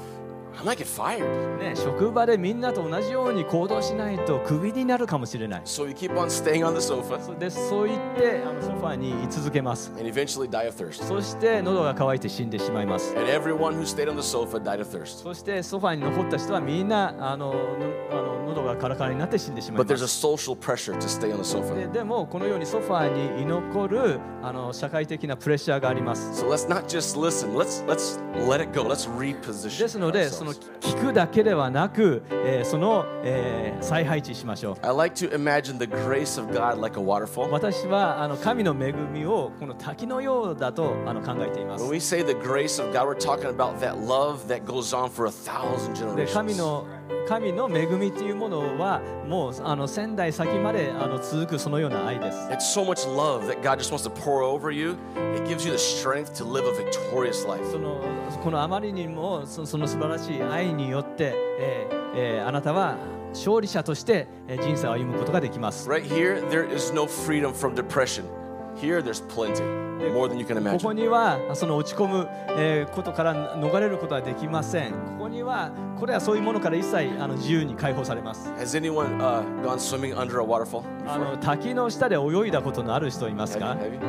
I might get fired. ね、職場でみんなと同じように行動しないとクビになるかもしれない。 So you keep on staying on the sofa そう言ってソファーに居続けます。 and eventually die of thirst. そして喉が渇いて死んでしまいます。 And everyone who stayed on the sofa died of thirst. そしてソファーに残った人はみんな喉がカラカラになって死んでしまい But ま there's a す。 social pressure to stay on the sofa. でもこのようにソファーに居残る社会的なプレッシャーがあります。 So let's not just listen. Let's let it go. Let's reposition ですのでその ourselves. 聞くだけではなく、再配置しましょう。 I like to imagine the grace of God like a waterfall. 私は神の恵みをこの滝のようだと考えています。 When we say the grace of God, we're talking about that love that goes on for 1,000 で神 generations. の恵みというものはもう千代先まで続くそのような愛です。 It's so much love that God just wants to pour over you. It gives you the strength to live a victorious life. このあまりにもその素晴らしい愛によって、あなたは勝利者として人生を歩むことができます。 Right here, there is no freedom from depression. Here, there's plenty, more than you can ここ imagine. にはその落ち込むことから逃れることはできません。ここにはこれはそういうものから一切自由に解放されます。 Has anyone gone swimming under a waterfall? 滝の下で泳いだことのある人いますか？ Have you?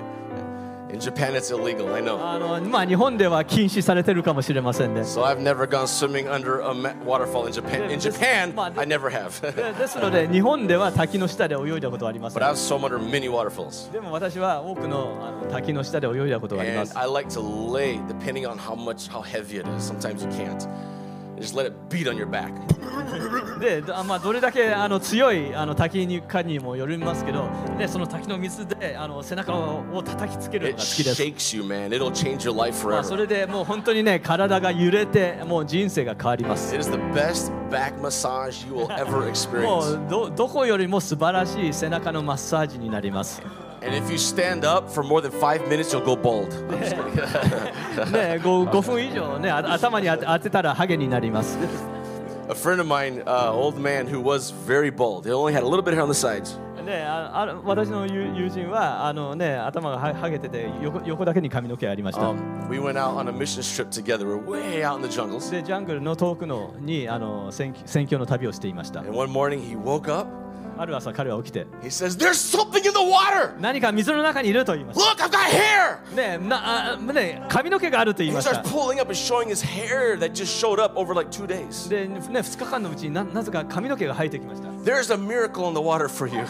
In Japan, it's illegal, I know. 日本では禁止されてるかもしれませんね。 So I've never gone swimming under a waterfall in Japan. In Japan, I never have. ですので日本では滝の下で泳いだことはありませ But ん。 I've swum under many waterfalls. でも私は多くの滝の下で泳いだことがありま And す。 I like to lay, depending on how heavy it is. Sometimes you can't. Just let it beat on your back. で、どれだけ強い滝かにもよりますけど、でその滝の水で背中を叩きつけるの It が好きです。 shakes you, man. It'll change your life そ forever. れでもう本当にね体が揺れてもう人生が変わります。 It is the best back massage you will ever も experience. うどこよりも素晴らしい背中のマッサージになります。 And if you stand up for more than 5 minutes, you'll go bald. I'm just kidding. ね、5分以上ね頭に当てたらハゲになります。 A friend of mine, old man who was very bald. He only had a little bit of hair on the sides. ね、私の友人は頭がハゲてて横だけに髪の毛ありました。 We went out on a mission trip together. We're way out in the jungles. でジャングルの遠くのに宣教の旅をしていました。 And one morning he woke up. ある朝彼は起きて He says, "There's something in the water. 何か水の中にいると言います。 Look, I've got hair." ね、髪の毛があると言い He まし starts た。 pulling up and showing his hair that just showed up over like 2 days. で、2日間のうちになぜか髪の毛が生えてきました。 There's a miracle in the water for you.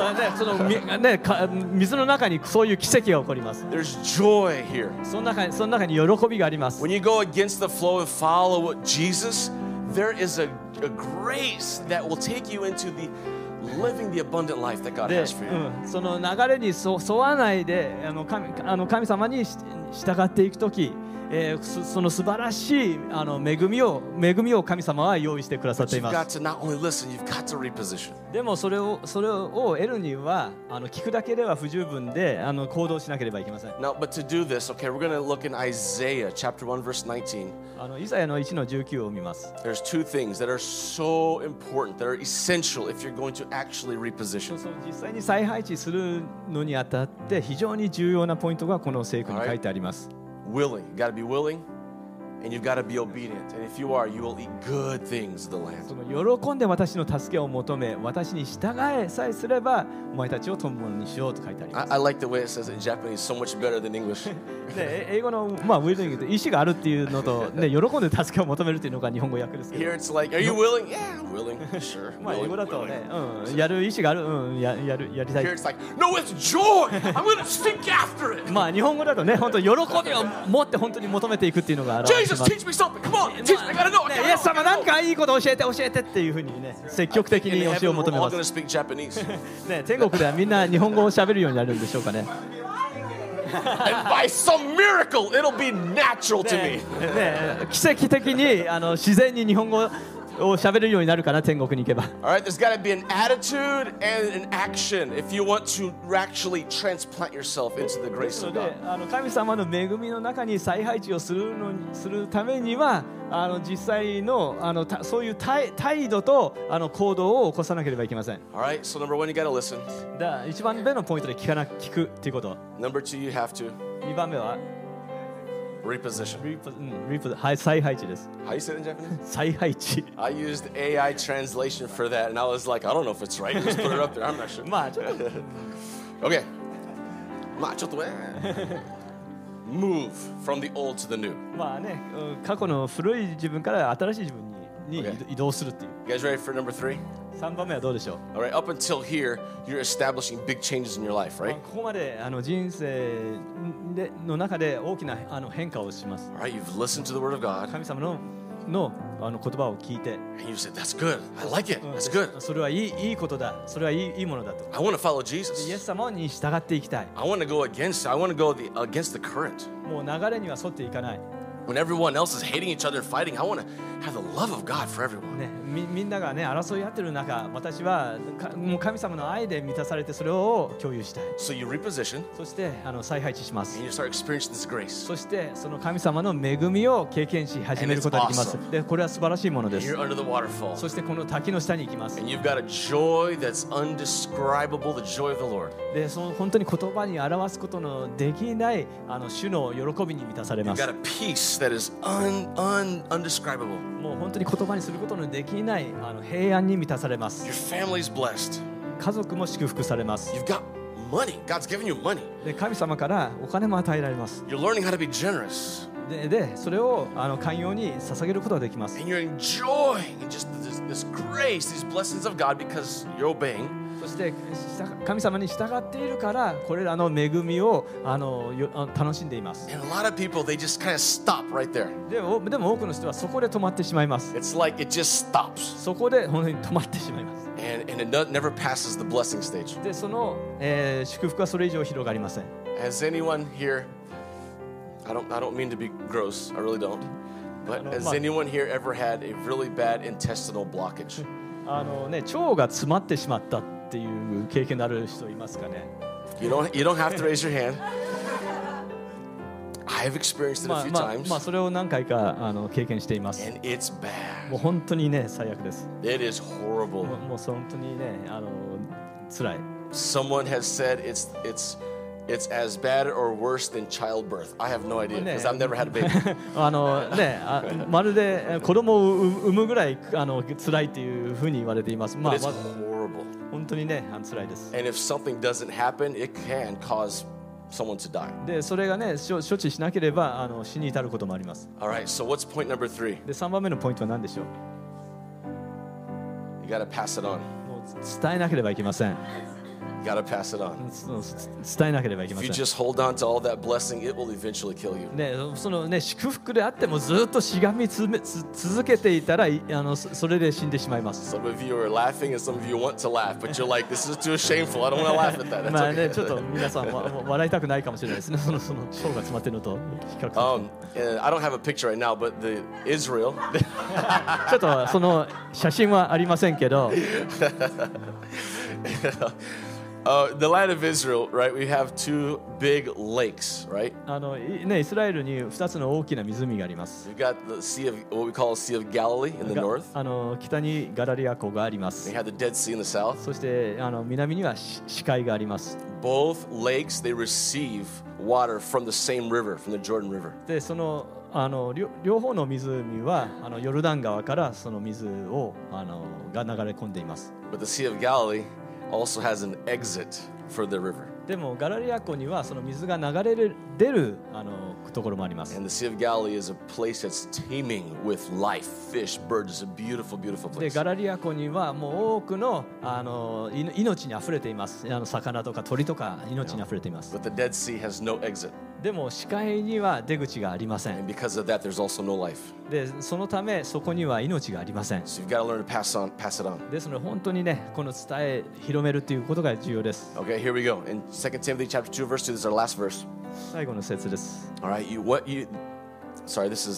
水の中にそういう奇跡が起こります。 There's joy here. その中に喜びがあります。 When you go against the flow and follow Jesus, there is a grace that will take you into living the abundant life that God で、 has for you. その流れに沿わないで神様に従っていくとき、その素晴らしい恵みを神様は用意してくださって But いま you've got す。 to not only listen, you've got to reposition. でもそれを得るには聞くだけでは不十分で行動しなければいけません。 Now, but to do this, okay, we're going to look in Isaiah chapter 1, verse 19. イサヤの1の19を見ます。 There's two things that are so important, that are essential if you're going to actually reposition. 実際に再配置するのにあたって非常に重要なポイントがこの聖句に書いてあります。 Willing. You got to be willing, and you've got to be obedient. And if you are, you will eat good things of the land. その喜んで私の助けを求め、私に従えさえすれば、お前たちを友物にしようと書いてあります。 I like the way it says it in Japanese so much better than English. で英語のウィルディングって意思があるっていうのと、ね、喜んで助けを求めるっていうのが日本語訳ですけど。 Here it's like, are you willing? Yeah, I'm willing. Sure. 英語 Willing. だとね、やる意思がある、やりたい Here。it's like, no, it's joy. I'm going to seek after it. 日本語だとね、本当喜びを持って本当に求めていくっていうのが表れて Jesus, ます。 teach me something. Come on, teach me. I gotta know. I イ gotta エス know. 様なんかいいこと教えてっていうふうにね、積極的 In に教え heaven, を we're 求め all ま going to す。 speak Japanese. ね、天国ではみんな日本語を喋るようになるんでしょうかね。 And by some miracle, it'll be natural to me. 奇跡的に自然に日本語を喋れるようになるかな、天国に行けば。 All right, there's got to be an attitude and an action if you want to actually transplant yourself into the で grace すの of で God. 神様の恵みの中に再配置をするためには実際のそういう態度と行動を起こさなければいけません。 All right, so number one, you got to listen. 一番目のポイントで聞くっていうこと。 Number two, you have to 2番目は reposition. 再配置です。 How you say it in Japanese? 再配置。 I used AI translation for that, and I was like, I don't know if it's right. Just put it up there. I'm not sure. まあちょっと Okay. まあちょっとね Move from the old to the new. まあね、過去の古い自分から新しい自分に Okay. 移動するっていう。 You guys ready for number three? 3番目はどうでしょう。 All right, up until here, you're establishing big changes in your life, まあ right? ここまで人生の中で大きな変化をします。 All right, you've listened to the word of God, 神様の言葉を聞いて、 and you said, that's good. I like it. That's good. それはいいことだ。それはいいものだと。 I want to follow イエ Jesus. ス様に従っていきたい。 I want to go against the current. もう流れには沿っていかない。 When everyone else is hating each other and fighting, I want to have the love of God for everyone. ね、みんながね争い合ってる中、私はもう神様の愛で満たされてそれを共有したい。 So you reposition そして再配置します。 and you start experiencing this grace. そしてその神様の恵みを経験し始めることができます。 And it's awesome. で、これは素晴らしいもので And す。 you're under the waterfall. そしてこの滝の下に行きます。 And you've got a joy that's undescribable, the joy of the Lord. で、その本当に言葉に表すことのできない主の喜びに満たされ You've ます。 got a peace that is undescribable. もう本当に言葉にすることのできない平安に満たされます。 Your family's blessed. 家族も祝福されます。 You've got money. God's given you money. で、神様からお金も与えられます。 You're learning how to be generous. で、それを寛容に捧げることができます。 And you're enjoying just this grace, these blessings of God because you're obeying. そして神様に従っているからこれらの恵みを楽しんでいます。 And a lot of people, they just kind of stop right there. でも多くの人はそこで止まってしまいます。 It's like it just stops. そこで本当に止まってしまいます。 And it never passes the blessing stage. で、その、祝福はそれ以上広がりません。 Has anyone here, I don't mean to be gross, I really don't. But has anyone here ever had a really bad intestinal blockage? 腸が詰まってしまったっていう経験のある人いますかね。 You don't have to raise your hand. I've experienced it a few まあ times. それを何回か経験しています。 And it's bad. もう本当にね最悪です。 It is horrible. もう本当にね辛い。 Someone has said it's as bad or worse than childbirth. I have no idea because I've never had a baby. まるで子供を産むぐらい辛いっていうふうに言われています。 But it's horrible. 本当にね辛いです。 And if something doesn't happen, it can cause someone to die. でそれがね処置しなければ死に至ることもあります。 All right, so what's point number 3? で3番目のポイントは何でしょう。 You got to pass it on. もう伝えなければいけません。 You got to pass it on. 伝えなければいけま If せ you ん。 just hold on to all that blessing, it will eventually kill you. ね、そのね祝福であってもずっとしがみ続けていたらそれで死んでしまいます。 Some of you are laughing and some of you want to laugh, but you're like, this is too shameful. I don't want to laugh at that. まあ That's ね okay. ちょっと皆さん笑いたくないかもしれないですね。その腸が詰まってるのと比較すると And I don't have a picture right now, but Israel, ちょっとその写真はありませんけど、 the land of Israel, right? We have two big lakes, right? ねイスラエルに2つの大きな湖があります。 We've got the Sea of what we call Sea of Galilee in the north. 北にガラリア湖があります。 We have the Dead Sea in the south. そして南には死海があります。 Both lakes they receive water from the same river, from the Jordan River. でその両方の湖はヨルダン川からその水をが流れ込んでいます。 But the Sea of Galilee also has an exit for the river. でもガラリア湖にはその水が流れ出るところもあります。 And the Sea of Galilee is a place that's teeming with life, fish, birds. It's a beautiful, beautiful で place. ガラリア湖にはもう多くの命にあふれています。魚とか鳥とか命にあふれています。 But the Dead Sea has no exit. でも死海には出口がありません。 And because of that, there's also no life. でそのためそこには命がありません。 So you've got to learn to pass it on. ですので本当にねこの広めるということが重要です。 Okay, here we go. In 2 Timothy chapter 2, verse 2, this is our last verse. 最後の節です。 All right, sorry, this is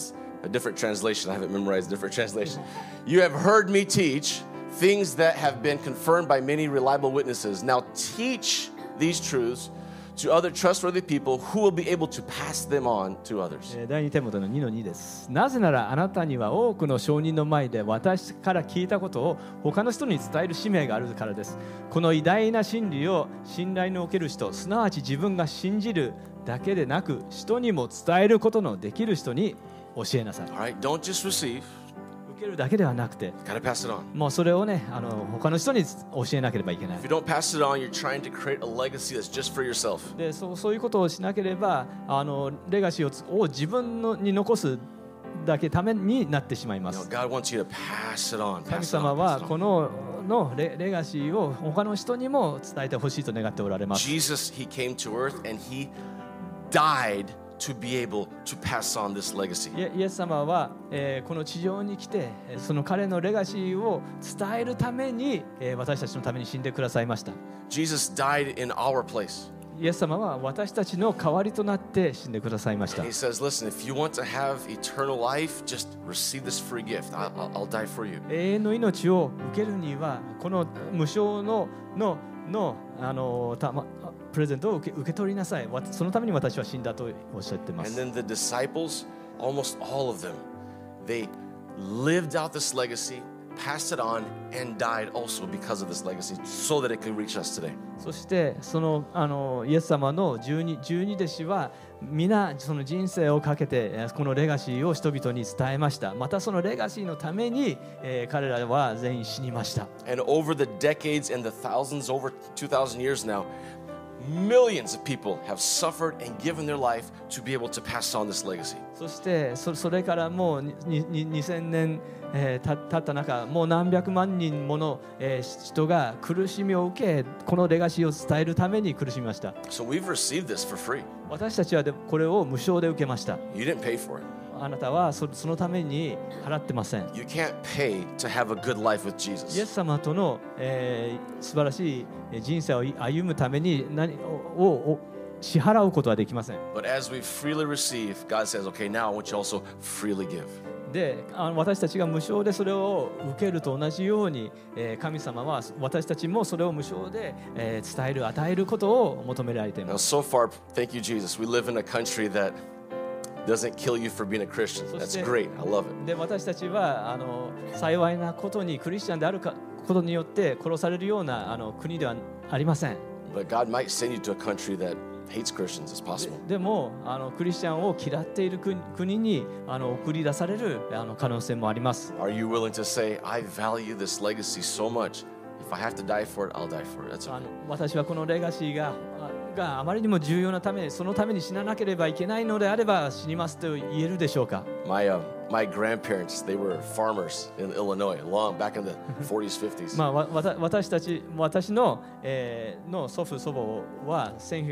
a different translation. I haven't memorized a different translation. You have heard me teach things that have been confirmed by many reliable witnesses. Now teach these truths to other trustworthy people who will be able to pass them on to others. 第2テモテの2の2です。なぜならあなたには多くの証人の前で私から聞いたことを他の人に伝える使命があるからです。この偉大な真理を信頼のおける人、すなわち自分が信じるだけでなく人にも伝えることのできる人に教えなさい。 All right, don't just receive. 受けるだけではなくて、 Gotta pass it on. もうそれをね、他の人に教えなければいけない。 If you don't pass it on, you're trying to create a legacy that's just for yourself. で、そういうことをしなければ、レガシーを自分に残すだけためになってしまいま You know, す。 God wants you to pass it on. 神 Pass it 様 on. は Pass it こ on. のレガシーを他の人にも伝えてほしいと願っておられます。 Jesus, he came to earth and he died to be able to pass on this legacy. イエス様は、この地上に来てその彼のレガシーを伝えるために、私たちのために死んでくださいました。 Jesus died in our place. イエス様は私たちの代わりとなって死んでくださいました。 And he says, listen, if you want to have eternal life, just receive this free gift. I'll die for you. 永遠の命を受けるにはこの無償のプレゼントを受け取りなさい。そのために私は死んだとおっしゃっていま And す。 then the disciples, almost all of them, they lived out this legacy, passed it on, and died also because of this legacy, so that it could reach us today. そしてそのイエス様の12弟子は皆その人生をかけてこのレガシーを人々に伝えました。またそのレガシーのために、彼らは全員死にました。 And over the decades and the thousands, over 2,000 years now, millions of people have suffered and given their life to be able to pass on this legacy. そしてそれからもう2000年経った中、もう何百万人もの人が苦しみを受け、このレガシーを伝えるために苦しみました。 So we've received this for free. 私たちはこれを無償で受けました。 You didn't pay for it. あなたはそのために払ってません。 You can't pay to have a good life with イエ Jesus. ス様との、素晴らしい人生を歩むために何を支払うことはできません。 But as we freely receive, God says, okay, now I want you also freely give. で、私たちが無償でそれを受けると同じように、神様は私たちもそれを無償で、伝える、与えることを求められてい Now, ます。 so far, thank you, Jesus. We live in a country that doesn't kill you for being a Christian. That's great. I love it. で、私たちは幸いなことにクリスチャンであることによって殺されるような国ではありません。 But God might send you to a country that hates Christians. It's possible. でもクリスチャンを嫌っている国に送り出される可能性もあります。 Are you willing to say, I value this legacy so much. If I have to die for it, I'll die for it. That's okay. 私はこのレガシーがあまりにも重要なため、そのために死ななければいけないのであれば死にますと言えるでしょうか。 My grandparents, they were farmers in Illinois, long back in the 40s, 50s. 私の、祖父祖母は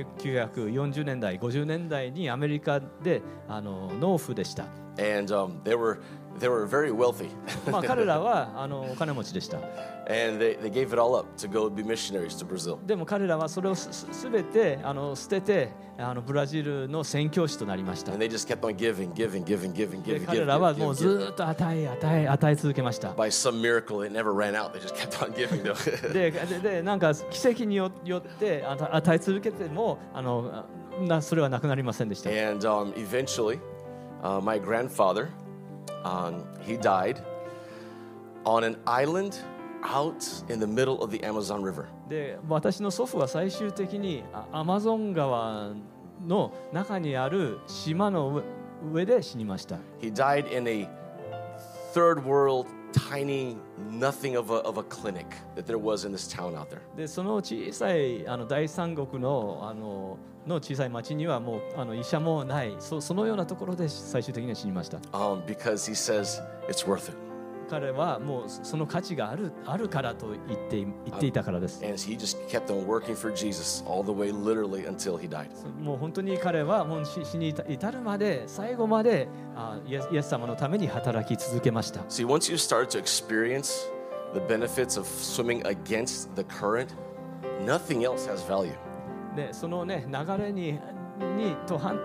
1940年代50年代にアメリカで農夫でした。 And they were very wealthy. 彼らはお金持ちでした。 And they gave it all up to go be missionaries to Brazil. でも彼らはそれをすべて捨ててブラジルの宣教師となりました。 And they just kept on giving. で彼らはもうずっと与え続けました。 By some miracle, it never ran out. They just kept on giving. でなんか奇跡によって与え続けてもそれはなくなりませんでした。 And eventually, my grandfather, he died on an island out in the middle of the Amazon River. で、私の祖父は最終的にアマゾン川の中にある島の上で死にました。 He died in a third world, tiny, nothing of a clinic that there was in this town out there. で、その小さい第三国の小さい町にはもう医者もない、そのようなところで最終的には死にました。 Because he says it's worth it. 彼はもうその価値があるからと言っていたからです。 And he just kept on working for Jesus all the way, literally, until he died. もう本当に彼はもう死に至るまで最後までイエス様のために働き続けました。 See, once you start to experience the benefits of swimming against the current, nothing else has value. で、そのね流れに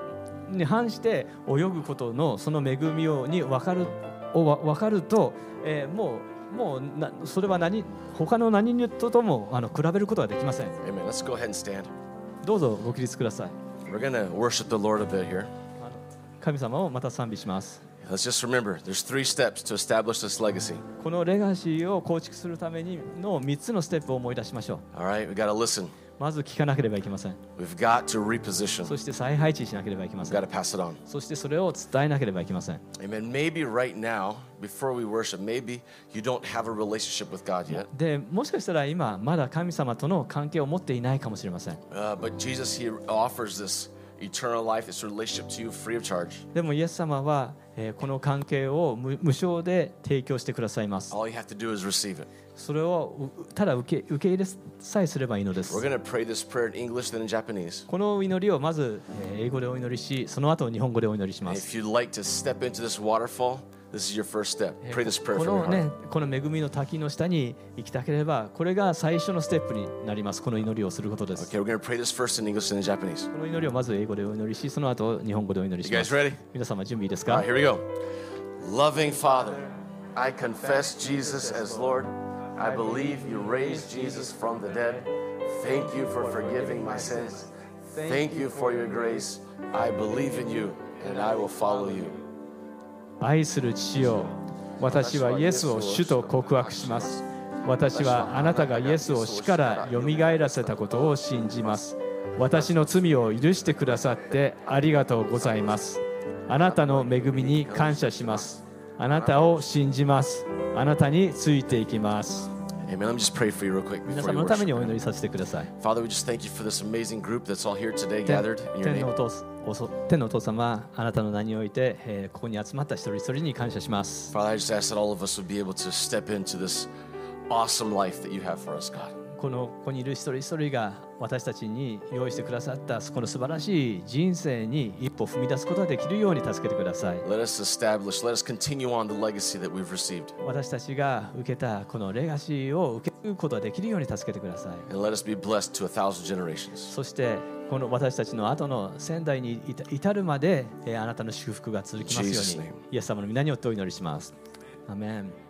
に反して泳ぐことのその恵みに分かると、もうそれは他の何とも比べることはできません。 Amen. Let's go ahead and stand. どうぞご起立ください。 We're going to worship the Lord a bit here. 神様をまた賛美します。 Let's just remember, there's 3 steps to establish this legacy. このレガシーを構築するためにの3つのステップを思い出しましょう。 All right, we got to listen. まず聞かなければいけません。 We've got to reposition. そして再配置しなければいけま We've せん。 got to pass it on. そしてそれを伝えなければいけません。 Amen. Maybe right now, before we worship, maybe you don't have a relationship with God yet. でもしかしたら今まだ神様との関係を持っていないかもしれません。 But Jesus, He offers this eternal life, this relationship to you free of charge. でもイエス様は、この関係を無償で提供してくださいます。 All you have to do is receive it. それをただ受け入れさえすればいいのです。 We're going to pray this prayer in English, then in Japanese. この祈りをまず英語でお祈りし、その後日本語でお祈りしま And す。 if you'd like to step into this waterfall, this is your first step. Pray this prayer こ from の your ね heart. この恵みの滝の下に行きたければ、これが最初のステップになります。この祈りをすることです。 Okay, we're going to pray this first in English, then in Japanese. この祈りをまず英語でお祈りし、その後日本語でお祈りし You ま guys す。 ready? 皆様準備いいです All か right, here we go. Loving Father, I confess Jesus as Lord. I believe you raised Jesus from the dead. Thank you for forgiving my sins. Thank you for your grace. I believe in you, and I will follow you. 愛する父よ、私はイエスを主と告白します。私はあなたがイエスを死からよみがえらせたことを信じます。私の罪を許してくださってありがとうございます。あなたの恵みに感謝します。あなたを信じます。あなたについていきます。 Amen. Let me just pray for you real quick 皆 before 様 you のためにお worship. 祈りさせてください。 Father, we just thank you for this amazing group that's all here today gathered in your 天の name. 天のお父様、あなたの名において、ここに集まった一人一人に感謝します。 Father, I just ask that all of us would be able to step into this awesome life that you have for us, God. ここにいる一人一人が私たちに用意してくださったこの素晴らしい人生に一歩踏み出すことができるように助けてください。 Let us continue on the legacy that we've received. 私たちが受けたこのレガシーを受けることができるように助けてください。 And let us be blessed to 1,000 generations. そしてこの私たちの後の先代に至るまであなたの祝福が続きますよう Jesus' に name. イエス様の皆によってお祈りします。アメン。